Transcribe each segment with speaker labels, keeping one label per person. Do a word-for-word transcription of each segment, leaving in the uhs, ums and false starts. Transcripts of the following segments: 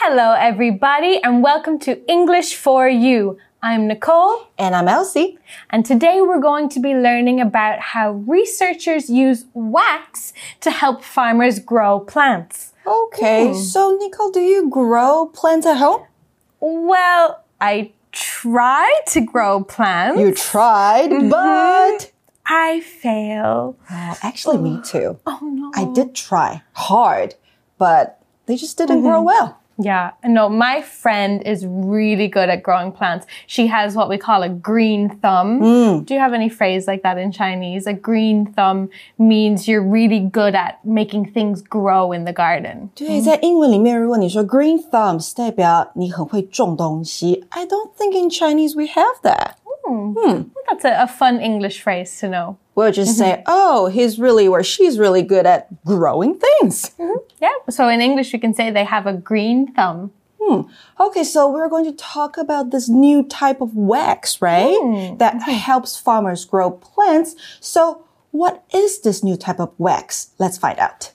Speaker 1: Hello, everybody, and welcome to English for You. I'm Nicole.
Speaker 2: And I'm Elsie.
Speaker 1: And today we're going to be learning about how researchers use wax to help farmers grow plants.
Speaker 2: Okay, mm. so Nicole, do you grow plants at home?
Speaker 1: Well, I try to grow plants.
Speaker 2: You tried, mm-hmm. but...
Speaker 1: I fail.
Speaker 2: Oh, actually, me too.
Speaker 1: Oh, no.
Speaker 2: I did try hard, but they just didn't mm-hmm. grow well.
Speaker 1: Yeah, no, my friend is really good at growing plants. She has what we call a green thumb.
Speaker 2: Mm.
Speaker 1: Do you have any phrase like that in Chinese? A green thumb means you're really good at making things grow in the garden.
Speaker 2: 对，在英文裡面，如果你说 green thumbs 代表你很会种东西. I don't think in Chinese we have that.
Speaker 1: Hmm. Hmm. That's a, a fun English phrase to know.
Speaker 2: We'll just mm-hmm. say, oh, he's really or she's really good at growing things.
Speaker 1: Mm-hmm. Yeah. So in English, we can say they have a green thumb.
Speaker 2: Hmm. Okay, so we're going to talk about this new type of wax, right? Mm. That mm-hmm. helps farmers grow plants. So what is this new type of wax? Let's find out.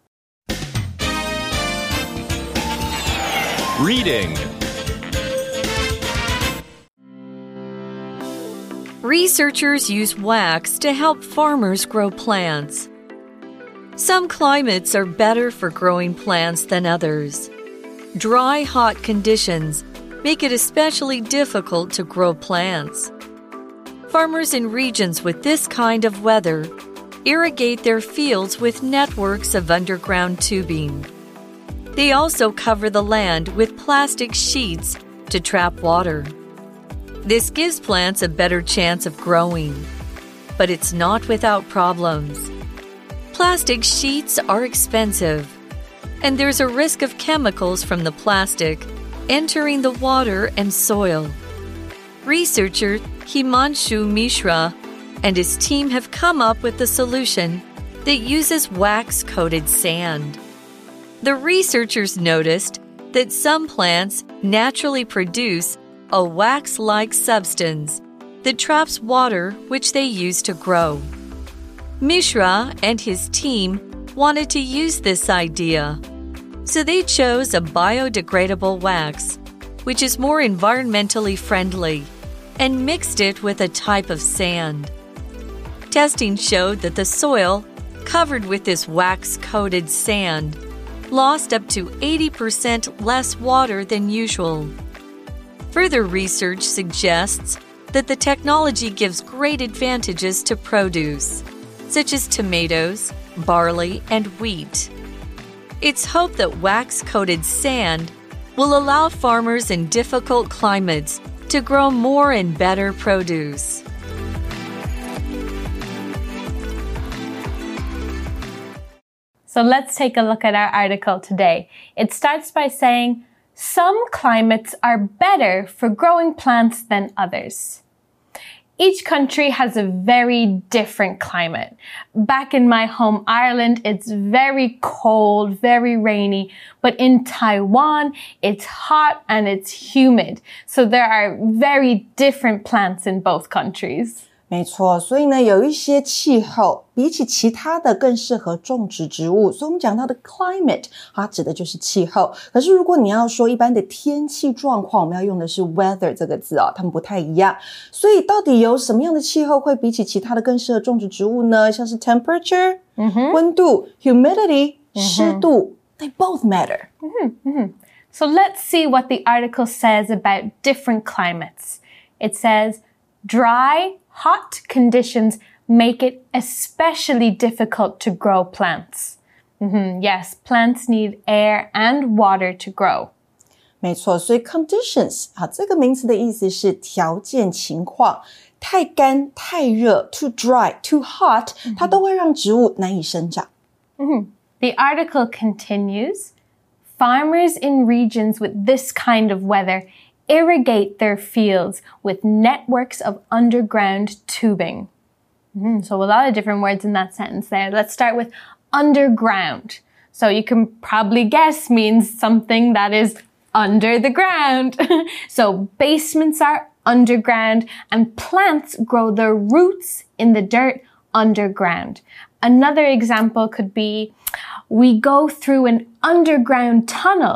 Speaker 3: Reading.
Speaker 4: Researchers use wax to help farmers grow plants. Some climates are better for growing plants than others. Dry, hot conditions make it especially difficult to grow plants. Farmers in regions with this kind of weather irrigate their fields with networks of underground tubing. They also cover the land with plastic sheets to trap water. This gives plants a better chance of growing, but it's not without problems. Plastic sheets are expensive, and there's a risk of chemicals from the plastic entering the water and soil. Researcher Himanshu Mishra and his team have come up with a solution that uses wax-coated sand. The researchers noticed that some plants naturally produce a wax-like substance that traps water which they use to grow. Mishra and his team wanted to use this idea, so they chose a biodegradable wax, which is more environmentally friendly, and mixed it with a type of sand. Testing showed that the soil covered with this wax-coated sand lost up to eighty percent less water than usual. Further research suggests that the technology gives great advantages to produce, such as tomatoes, barley, and wheat. It's hoped that wax-coated sand will allow farmers in difficult climates to grow more and better produce.
Speaker 1: So let's take a look at our article today. It starts by saying, some climates are better for growing plants than others. Each country has a very different climate. Back in my home, Ireland, it's very cold, very rainy. But in Taiwan, it's hot and it's humid. So there are very different plants in both countries.
Speaker 2: 没錯，所以呢，有一些气候比起其他的更適合種植植物，所以我們講到的 climate 它指的就是氣候。可是如果你要說一般的天氣狀況，我們要用的是 weather 這個字哦，它們不太一樣。所以到底有什麼樣的氣候會比起其他的更適合種植植物呢？像是 temperature、mm-hmm. 溫度 humidity、mm-hmm. 濕度 they both matter.
Speaker 1: Mm-hmm. Mm-hmm. So let's see what the article says about different climates. It says, dry, hot conditions make it especially difficult to grow plants. Mm-hmm. Yes, plants need air and water to grow.
Speaker 2: 没錯，所以 conditions 啊，這個名詞的意思是條件情況，太乾、太熱 too dry, too hot 它都會讓植物難以生長。
Speaker 1: Mm-hmm. The article continues, farmers in regions with this kind of weather irrigate their fields with networks of underground tubing. Mm, so a lot of different words in that sentence there. Let's start with underground. So you can probably guess means something that is under the ground. So basements are underground and plants grow their roots in the dirt underground. Another example could be, we go through an underground tunnel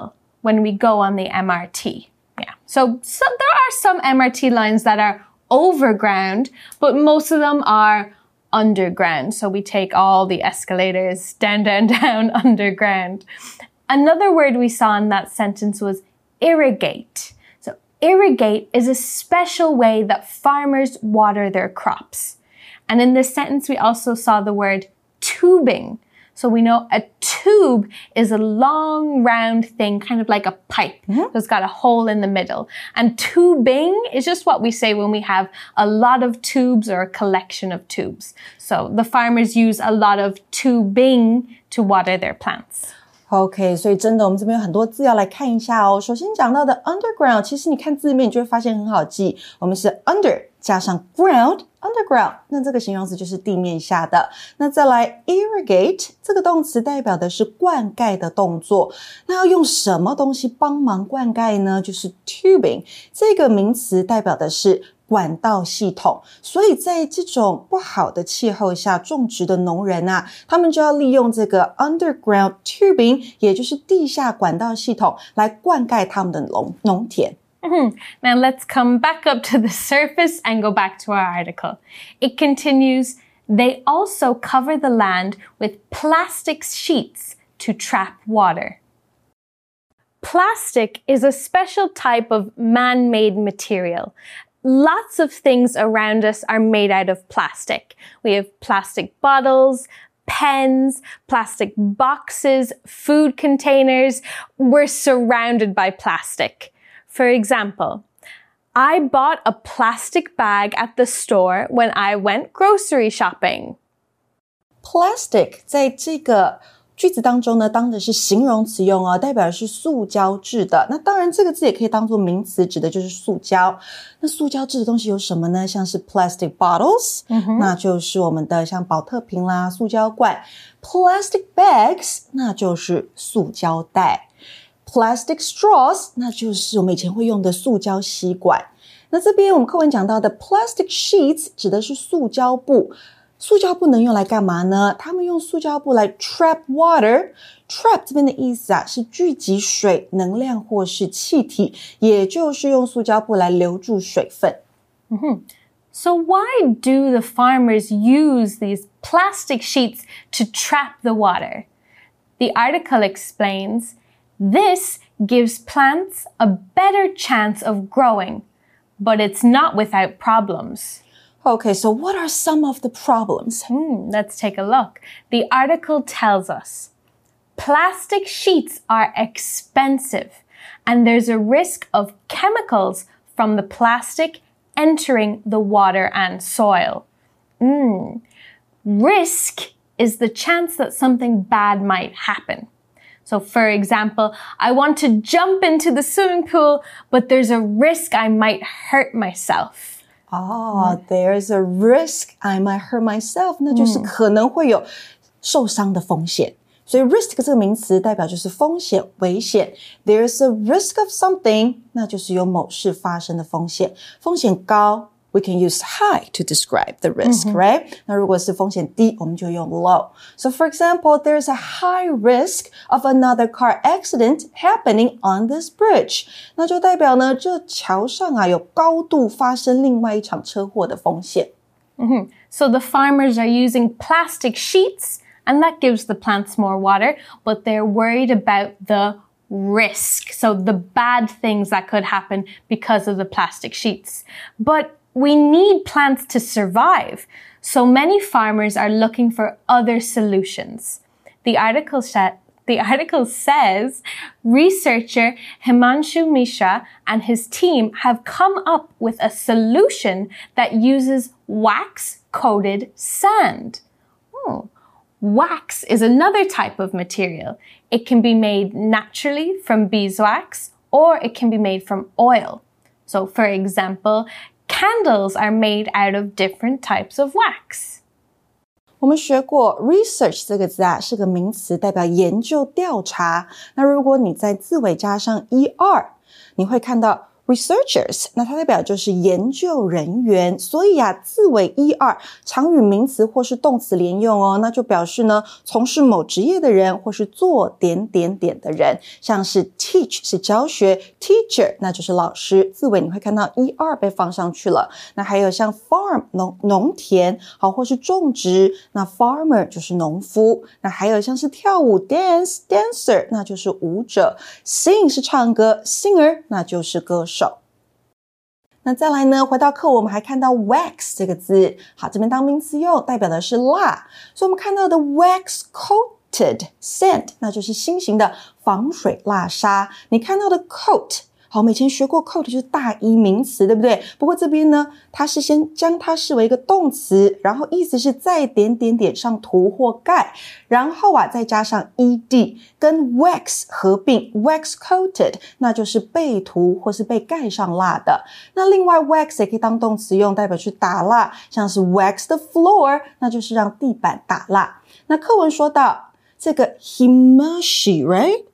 Speaker 1: when we go on the M R T. Yeah. So, so there are some M R T lines that are overground, but most of them are underground. So we take all the escalators down, down, down underground. Another word we saw in that sentence was irrigate. So irrigate is a special way that farmers water their crops. And in this sentence, we also saw the word tubing. So we know a tube is a long, round thing, kind of like a pipe. Mm-hmm. It's got a hole in the middle. And tubing is just what we say when we have a lot of tubes or a collection of tubes. So the farmers use a lot of tubing to water their plants.
Speaker 2: OK, 所以真的我们这邊有很多字要來看一下哦。首先講到的 underground， 其實你看字面你就會發現很好記，我們是 under 加上 ground underground， 那這個形容詞就是地面下的。那再來 irrigate 這個動詞代表的是灌溉的動作，那要用什麼東西幫忙灌溉呢？就是 tubing 這個名詞代表的是管道系統，所以在這種不好的氣候下種植的農人啊，他們就要利用這個 underground tubing， 也就是地下管道系統來灌溉他們的農農田。
Speaker 1: Mm-hmm. Now let's come back up to the surface and go back to our article. It continues, they also cover the land with plastic sheets to trap water. Plastic is a special type of man-made material. Lots of things around us are made out of plastic. We have plastic bottles, pens, plastic boxes, food containers. We're surrounded by plastic. For example, I bought a plastic bag at the store when I went grocery shopping.
Speaker 2: Plastic 在這個句子當中呢，當的是形容詞用哦，代表的是塑膠製的。那當然這個字也可以當作名詞，指的就是塑膠。那塑膠製的東西有什麼呢？像是 plastic bottles，、嗯、那就是我們的像寶特瓶啦、塑膠罐。Plastic bags， 那就是塑膠袋。Plastic straws， 那就是我們以前會用的塑膠吸管。那這邊我們課文講到的 plastic sheets 指的是塑膠布。塑膠布能用來幹嘛呢？他們用塑膠布來 trap water。Trap 這邊的意思啊，是聚集水、能量或是氣體，也就是用塑膠布來留住水分。
Speaker 1: Mm-hmm. So why do the farmers use these plastic sheets to trap the water? The article explains, this gives plants a better chance of growing, but it's not without problems.
Speaker 2: Okay, so what are some of the problems?
Speaker 1: Hmm, let's take a look. The article tells us, plastic sheets are expensive, and there's a risk of chemicals from the plastic entering the water and soil. Hmm. Risk is the chance that something bad might happen. So, for example, I want to jump into the swimming pool, but there's a risk I might hurt myself.
Speaker 2: Oh, there's a risk I might hurt myself. 那就是可能會有受傷的風險。所以 risk 這個名詞代表就是風險、危險。There's a risk of something， 那就是有某事發生的風險。風險高 we can use high to describe the risk, mm-hmm. right? 那如果是風險低，我們就用 low. So for example, there's a high risk of another car accident happening on this bridge. 那就代表呢，這橋上啊有高度發生另外一場車禍的風險。
Speaker 1: Mm-hmm. So the farmers are using plastic sheets, and that gives the plants more water, but they're worried about the risk. So the bad things that could happen because of the plastic sheets. But we need plants to survive, so many farmers are looking for other solutions. The article, sh- the article says researcher Himanshu Mishra and his team have come up with a solution that uses wax-coated sand. Oh. Wax is another type of material. It can be made naturally from beeswax, or it can be made from oil. So, for example, candles are made out of different types of wax.
Speaker 2: 我們學過 research 這個字啊，是個名詞，代表研究調查。那如果你在字尾加上 er， 你會看到 researchers， 那它代表就是研究人員，所以啊，字尾 er 常與名詞或是動詞連用哦，那就表示呢，從事某職業的人或是做點點點的人，像是 teach 是教學 ，teacher 那就是老師，字尾你會看到 er 被放上去了。那還有像 farm 農農田，好，或是種植，那 farmer 就是農夫。那還有像是跳舞 dance dancer 那就是舞者 ，sing 是唱歌 singer 那就是歌手。那再來呢，回到課文我們還看到 wax 這個字，好，這邊當名詞用，代表的是蠟，所以我們看到的 wax coated sand 那就是新型的防水蠟砂。你看到的 coat， 好，我們以前學過 coat 就是大衣名詞，對不對？不過這邊呢，它是先將它視為一個動詞，然後意思是在點點點上塗或蓋，然後啊再加上 ed 跟 wax 合併 wax coated 那就是被塗或是被蓋上蠟的。那另外 wax 也可以當動詞用，代表去打蠟，像是 wax the floor 那就是讓地板打蠟。那課文說到這個 Himanshu right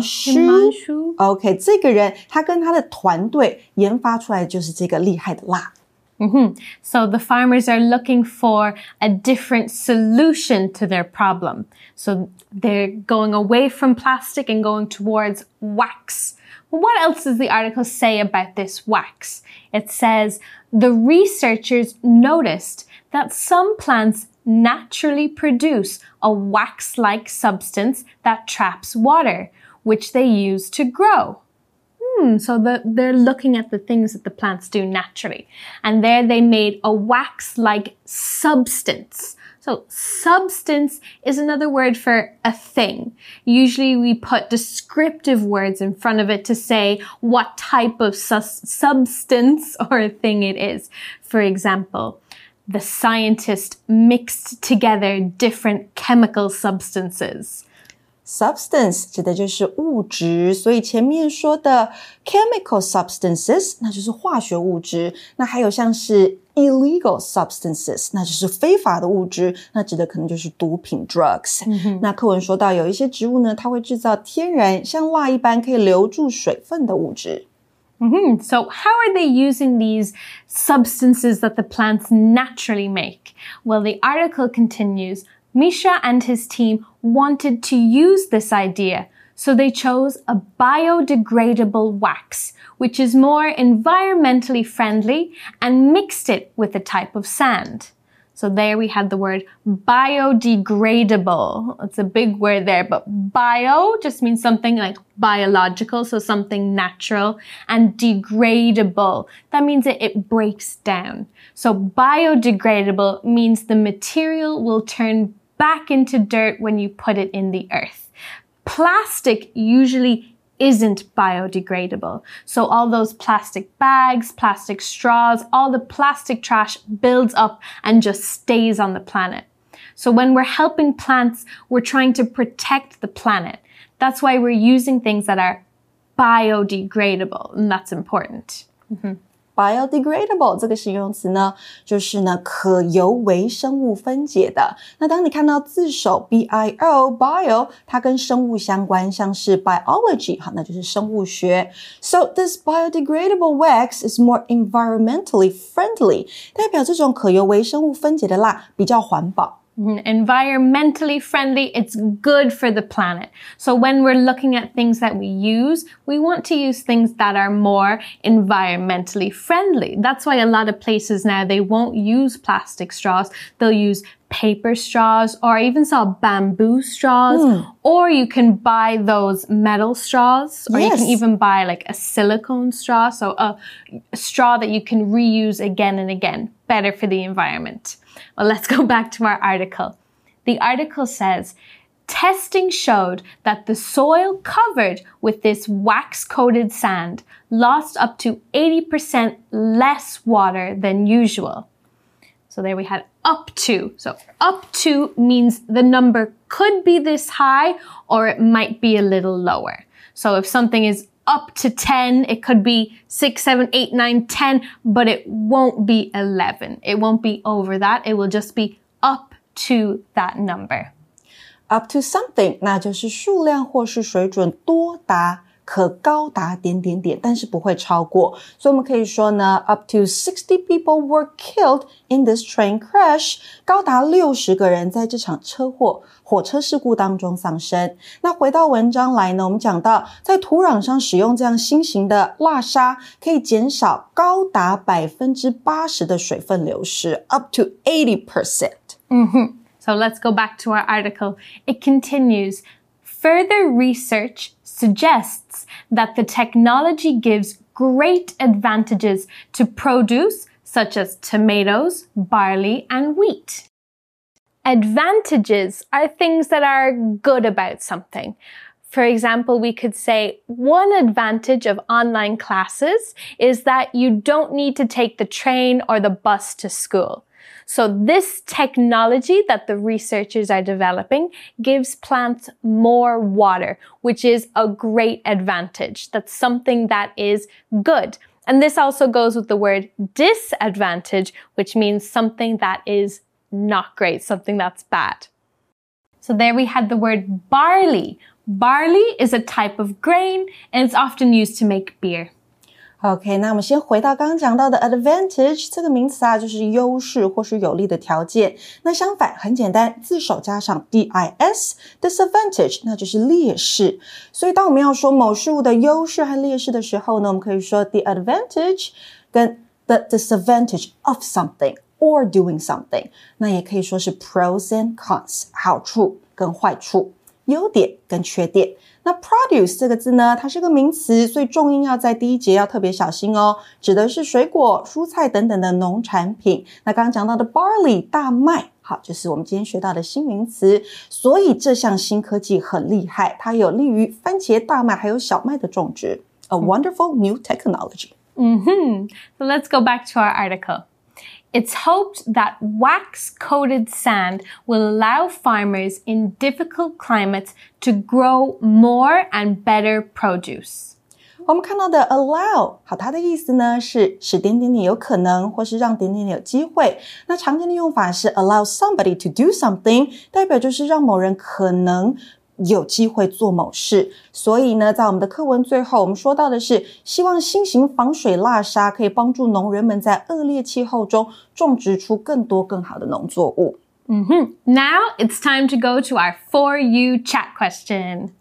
Speaker 2: Himanshu OK 這個人他跟他的團隊研發出來的就是這個厲害的蠟。
Speaker 1: Mm-hmm. So the farmers are looking for a different solution to their problem. So they're going away from plastic and going towards wax. What else does the article say about this wax? It says the researchers noticed that some plants naturally produce a wax-like substance that traps water, which they use to grow. Hmm, so the, they're looking at the things that the plants do naturally. And there they made a wax-like substance. So substance is another word for a thing. Usually we put descriptive words in front of it to say what type of su- substance or thing it is. For example, the scientist mixed together different chemical substances.
Speaker 2: Substance 指的就是物質，所以前面說的 chemical substances 那就是化學物質，那還有像是 illegal substances 那就是非法的物質，那指的可能就是毒品 drugs、嗯、那課文說到有一些植物呢，它會製造天然像蠟一般可以留住水分的物質。
Speaker 1: Mm-hmm. So how are they using these substances that the plants naturally make? Well, the article continues, Misha and his team wanted to use this idea, so they chose a biodegradable wax, which is more environmentally friendly, and mixed it with a type of sand. So there we have the word biodegradable. It's a big word there, but bio just means something like biological, so something natural, and degradable. That means that it breaks down. So biodegradable means the material will turn back into dirt when you put it in the earth. Plastic usually isn't biodegradable. So all those plastic bags, plastic straws, all the plastic trash builds up and just stays on the planet. So when we're helping plants, we're trying to protect the planet. That's why we're using things that are biodegradable, and that's important. Mm-hmm.
Speaker 2: Biodegradable 這個形容詞呢，就是呢可由微生物分解的。那當你看到字首 B I O bio， 它跟生物相關，像是 biology， 好，那就是生物學。So this biodegradable wax is more environmentally friendly， 代表這種可由微生物分解的蠟比較環保。
Speaker 1: Environmentally friendly, it's good for the planet. So when we're looking at things that we use, we want to use things that are more environmentally friendly. That's why a lot of places now, they won't use plastic straws. They'll use paper straws, or I even saw bamboo straws, mm. or you can buy those metal straws, or yes. you can even buy like a silicone straw, so a, a straw that you can reuse again and again, better for the environment. Well, let's go back to our article. The article says, testing showed that the soil covered with this wax-coated sand lost up to eighty percent less water than usual. So there we had up to. So up to means the number could be this high or it might be a little lower. So if something is up to ten, it could be six, seven, eight, nine, ten, but it won't be eleven. It won't be over that. It will just be up to that number.
Speaker 2: Up to something, 那就是數量或是水準多達可高達點點點，但是不會超過。所以我們可以說呢 up to sixty people were killed in this train crash. 高達六十個人在這場車禍火車事故當中喪生。那回到文章來呢，我們講到在土壤上使用這樣新型的蠟砂，可以減少高達百分之八十的水分流失 up to eighty percent.
Speaker 1: Mm-hmm. So let's go back to our article. It continues, further research suggests that the technology gives great advantages to produce such as tomatoes, barley, and wheat. Advantages are things that are good about something. For example, we could say one advantage of online classes is that you don't need to take the train or the bus to school. So this technology that the researchers are developing gives plants more water, which is a great advantage. That's something that is good. And this also goes with the word disadvantage, which means something that is not great, something that's bad. So there we had the word barley. Barley is a type of grain and it's often used to make beer.
Speaker 2: OK, 那我們先回到剛剛講到的 advantage 這個名詞啊，就是優勢或是有利的條件。那相反，很簡單，字首加上 dis, disadvantage, 那就是劣勢。所以當我們要說某事物的優勢和劣勢的時候呢，我們可以說 the advantage 跟 the disadvantage of something or doing something. 那也可以說是 pros and cons, 好處跟壞處，優點跟缺點。那 produce 這個字呢，它是個名詞，所以重音要在第一節要特別小心哦，指的是水果、蔬菜等等的農產品。那剛剛講到的 barley 大麥，好，就是我們今天學到的新名詞。所以這項新科技很厲害，它有利於番茄、大麥還有小麥的種植。A wonderful new technology.
Speaker 1: Mm-hmm. So let's go back to our article. It's hoped that wax-coated sand will allow farmers in difficult climates to grow more and better produce.
Speaker 2: 我們看到的 allow 好，它的意思呢是使點點點有可能，或是讓點點點有機會。那常見的用法是 allow somebody to do something， 代表就是讓某人可能有機會做某事。所以呢，在我們的課文最後，我們說到的是希望新型防水蠟砂可以幫助農人們在惡劣氣候中種植出更多更好的農作物。
Speaker 1: Mm-hmm. Now it's time to go to our For You chat question.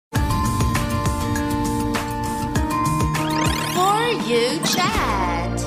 Speaker 3: For You chat.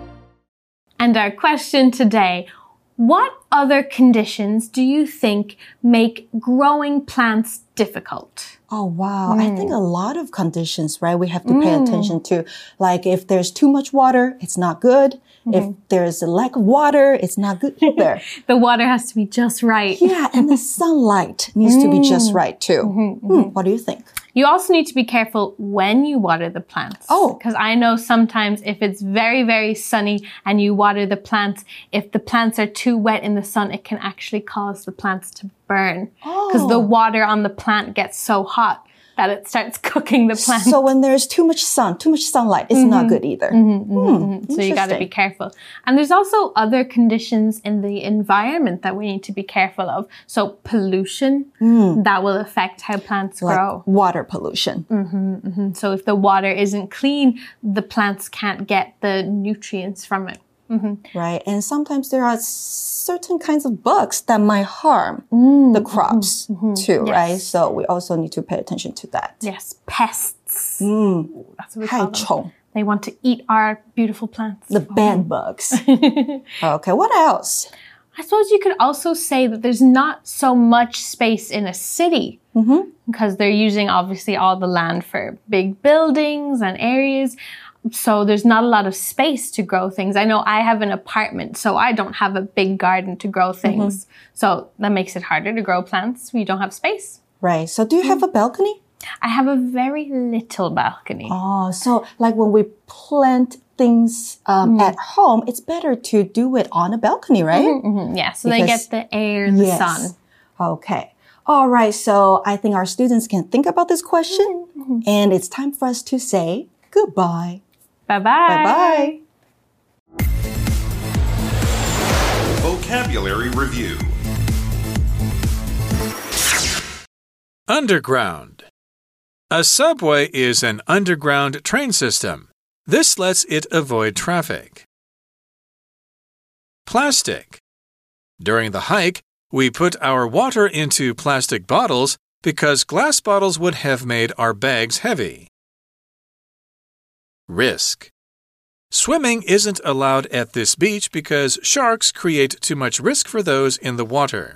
Speaker 1: And our question today, what other conditions do you think make growing plants difficult?
Speaker 2: Oh, wow. Mm. I think a lot of conditions, right? We have to pay mm. attention to, like if there's too much water, it's not good. Mm-hmm. If there's a lack of water, it's not good either.
Speaker 1: The water has to be just right.
Speaker 2: Yeah, and the sunlight needs mm. to be just right too. Mm-hmm, mm-hmm. Hmm, what do you think?
Speaker 1: You also need to be careful when you water the plants.
Speaker 2: Oh.
Speaker 1: Because I know sometimes if it's very, very sunny and you water the plants, if the plants are too wet in the sun, it can actually cause the plants to burn. Because oh. the water on the plant gets so hot that it starts cooking the plant.
Speaker 2: So when there's too much sun, too much sunlight, it's mm-hmm. not good either.
Speaker 1: Mm-hmm, mm-hmm, mm-hmm. So you got to be careful. And there's also other conditions in the environment that we need to be careful of. So pollution, mm. that will affect how plants
Speaker 2: like
Speaker 1: grow.
Speaker 2: Water pollution.
Speaker 1: Mm-hmm, mm-hmm. So if the water isn't clean, the plants can't get the nutrients from it. Mm-hmm.
Speaker 2: Right. And sometimes there are certain kinds of bugs that might harm mm, the crops mm-hmm, too, yes. right? So we also need to pay attention to that.
Speaker 1: Yes. Pests.
Speaker 2: Mm.
Speaker 1: That's what we call them.
Speaker 2: 害蟲.
Speaker 1: They want to eat our beautiful plants.
Speaker 2: The bed bugs. Okay. What else?
Speaker 1: I suppose you could also say that there's not so much space in a city mm-hmm. because they're using obviously all the land for big buildings and areas. So there's not a lot of space to grow things. I know I have an apartment, so I don't have a big garden to grow things. Mm-hmm. So that makes it harder to grow plants when you don't have space.
Speaker 2: Right. So do you have a balcony?
Speaker 1: I have a very little balcony.
Speaker 2: Oh, so like when we plant things um, mm. at home, it's better to do it on a balcony, right?
Speaker 1: Mm-hmm, mm-hmm. Yeah, so because, they get the air and
Speaker 2: yes.
Speaker 1: the sun.
Speaker 2: Okay. All right. So I think our students can think about this question. Mm-hmm. And it's time for us to say goodbye.
Speaker 1: Bye-bye.
Speaker 2: Bye-bye.
Speaker 5: Vocabulary Review. Underground.
Speaker 6: A subway is an underground train system. This lets it avoid traffic. Plastic. During the hike, we put our water into plastic bottles because glass bottles would have made our bags heavy. Risk. Swimming isn't allowed at this beach because sharks create too much risk for those in the water.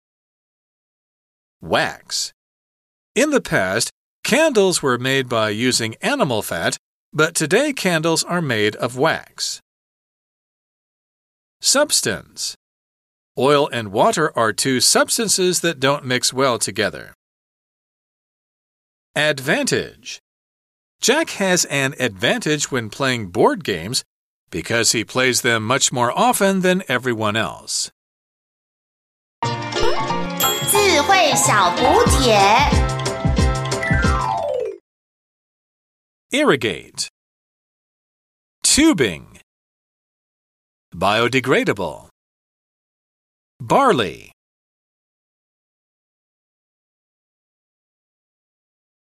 Speaker 6: Wax. In the past, candles were made by using animal fat, but today candles are made of wax. Substance. Oil and water are two substances that don't mix well together. Advantage. Jack has an advantage when playing board games because he plays them much more often than everyone else.
Speaker 3: 智慧小补帖
Speaker 6: Irrigate. Tubing. Biodegradable. Barley.